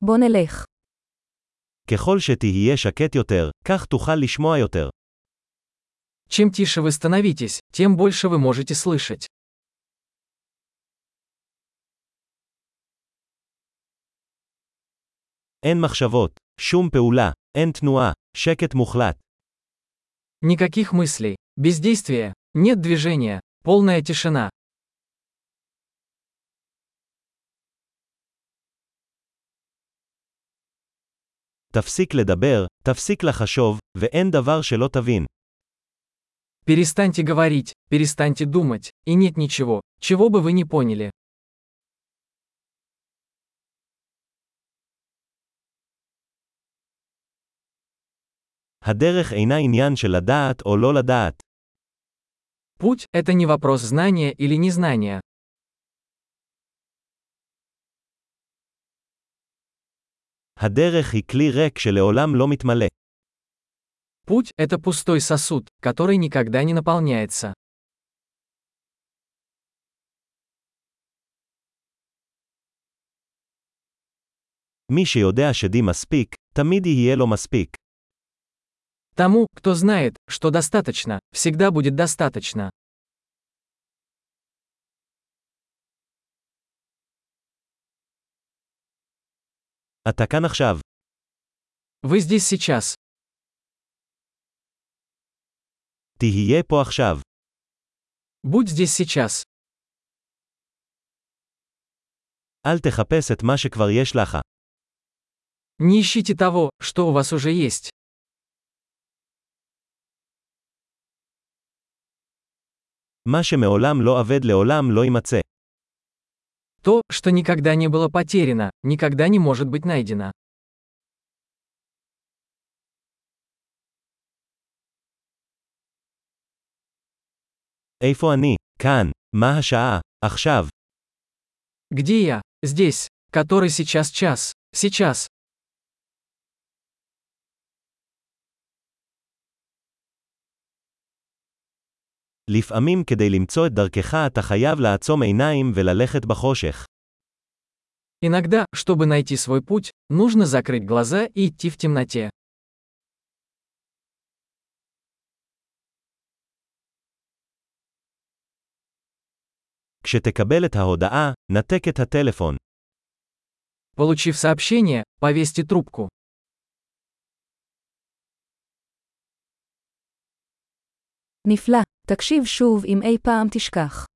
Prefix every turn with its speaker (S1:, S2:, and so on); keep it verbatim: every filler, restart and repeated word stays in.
S1: בוא נלך.
S2: ככל שתהיה שקט יותר, כך תוכל לשמוע יותר.
S3: Чем тише вы становитесь, тем больше вы можете слышать.
S2: אין מחשבות, שום פעולה, אין תנועה, שקט מוחלט.
S3: Никаких мыслей, бездействия, нет движения, полная тишина.
S2: תפסיק לדבר, תפסיק לחשוב, ואין דבר שלא תבין.
S3: Перестаньте говорить, перестаньте думать, и нет ничего, чего бы вы не поняли.
S2: הדרך אינה עניין של לדעת או לא לדעת.
S3: Путь – это не вопрос знания или незнания.
S2: הדרך היא כלי ריק שלעולם לא מתמלא.
S3: Путь – это пустой сосуд, который никогда не наполняется.
S2: מי שיודע שדי מספיק, תמיד יהיה לו מספיק.
S3: Тому, кто знает, что достаточно, всегда будет достаточно.
S2: אתה כאן עכשיו.
S3: Вы здесь сейчас.
S2: תהיה פה עכשיו.
S3: Будь здесь сейчас.
S2: אל תחפש את מה שכבר יש לך.
S3: Не ищите того, что у вас уже есть.
S2: מה שמעולם לא אבד לעולם לא יימצא.
S3: То, что никогда не было потеряно, никогда не может быть найдено.
S2: איפה אני? כאן. מה השעה? עכשיו.
S3: Где я? Здесь. Который сейчас час? Сейчас.
S2: לפעמים כדי למצוא את דרכך אתה חייב לעצום עיניים וללכת בחושך.
S3: Иногда, чтобы найти свой путь, нужно закрыть глаза и идти в темноте.
S2: כשתקבל את ההודעה, נתק את הטלפון.
S3: Получив сообщение, повесьте трубку.
S1: נפלא, תקשיב שוב אם אי פעם תשכח.